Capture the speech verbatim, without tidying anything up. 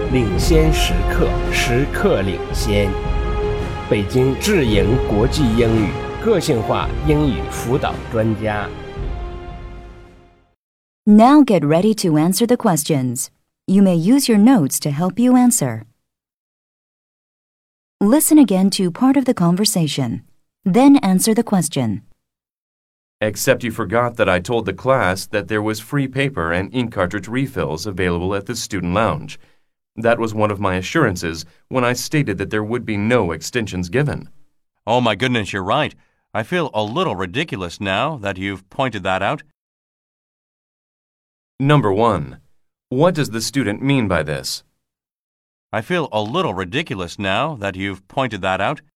领先时刻，时刻领先。北京智盈国际英语个性化英语辅导专家。 Now get ready to answer the questions. You may use your notes to help you answer. Listen again to part of the conversation. Then answer the question. Except you forgot that I told the class that there was free paper and ink cartridge refills available at the student lounge. That was one of my assurances when I stated that there would be no extensions given. Oh my goodness, you're right. I feel a little ridiculous now that you've pointed that out. Number one. What does the student mean by this? I feel a little ridiculous now that you've pointed that out.